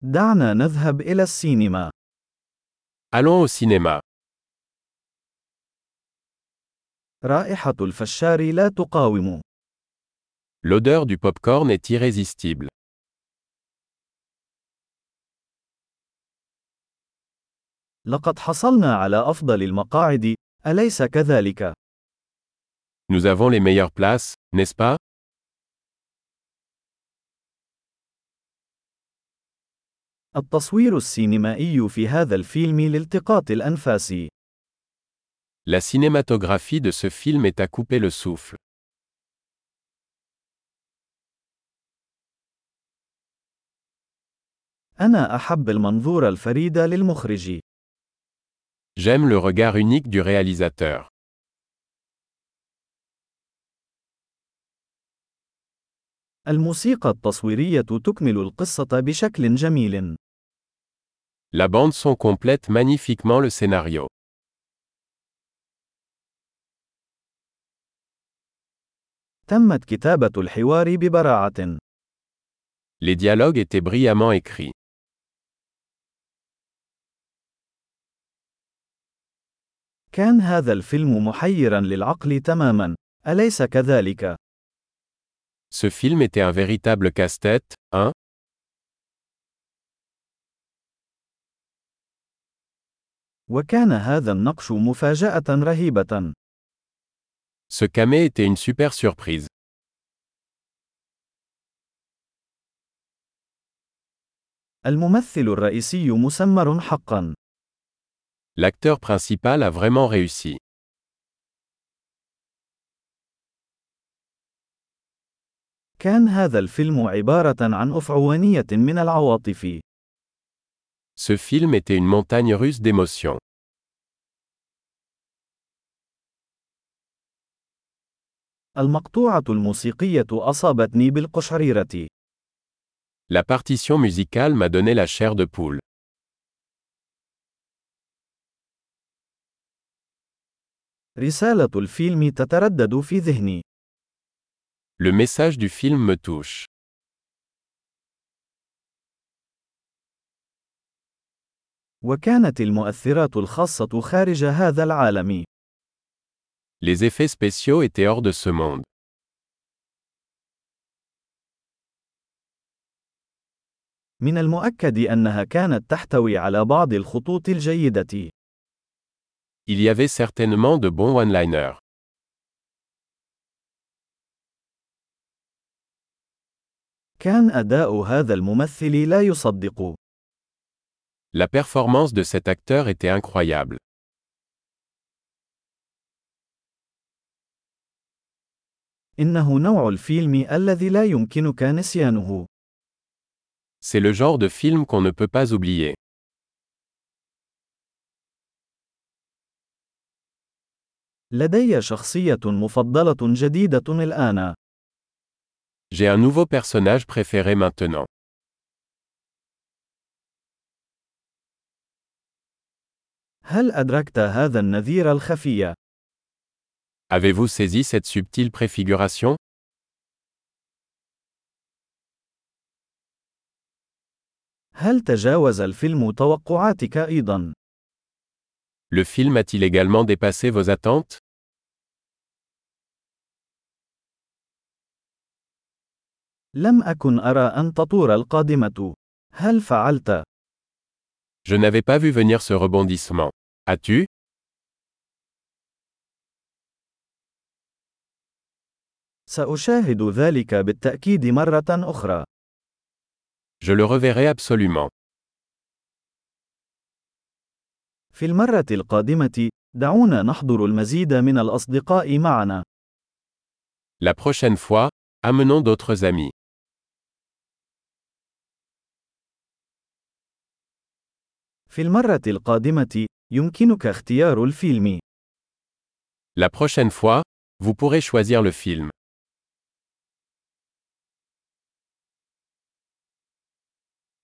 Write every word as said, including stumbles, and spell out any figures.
دعنا نذهب إلى السينما. Allons au cinéma. رائحة الفشار لا تقاوم. L'odeur du pop-corn est irrésistible. لقد حصلنا على أفضل المقاعد، أليس كذلك؟ Nous avons les meilleures places, n'est-ce pas? التصوير السينمائي في هذا الفيلم لالتقاط الأنفاس. La cinématographie de ce film est à couper le souffle. أنا أحب المنظور الفريد للمخرج. J'aime le regard unique du réalisateur. الموسيقى التصويرية تكمل القصة بشكل جميل. La bande son complète magnifiquement le scénario. تمت كتابة الحوار ببراعة. Les dialogues étaient brillamment écrits. كان هذا الفيلم محيرا للعقل تماما، أليس كذلك؟ Ce film était un véritable casse-tête, hein? وكان هذا النقش مفاجأة رهيبة. Ce camé était une super surprise. الممثل الرئيسي مسمر حقا. L'acteur principal a vraiment réussi. كان هذا الفيلم عبارة عن أفعوانية من العواطف. Ce film était une montagne russe d'émotions. المقطوعة الموسيقية أصابتني بالقشعريرة. La partition musicale m'a donné la chair de poule. رسالة الفيلم تتردد في ذهني. Le message du film me touche. وكانت المؤثرات الخاصة خارج هذا العالم. Les effets spéciaux étaient hors de ce monde. من المؤكد أنها كانت تحتوي على بعض الخطوط الجيدة. Il y avait certainement de bons one-liners. كان أداء هذا الممثل لا يصدق. La performance de cet acteur était incroyable. إنه نوع الفيلم الذي لا يمكنك نسيانه. C'est le genre de film qu'on ne peut pas oublier. لدي شخصية مفضلة جديدة الآن. J'ai un nouveau personnage préféré maintenant. هل أدركت هذا النذير الخفي؟ Avez-vous saisi cette subtile préfiguration? هل تجاوز الفيلم توقعاتك أيضا؟ Le film a-t-il également dépassé vos attentes? لم أكن أرى أن تطور القادمة. هل فعلت؟ Je n'avais pas vu venir ce rebondissement. As-tu? سأشاهد ذلك بالتأكيد مرة أخرى. Je le reverrai absolument. في المرة القادمة، دعونا نحضر المزيد من الأصدقاء معنا. La prochaine fois, amenons d'autres amis. في المرة القادمة، يمكنك اختيار الفيلم. La prochaine fois, vous pourrez choisir le film.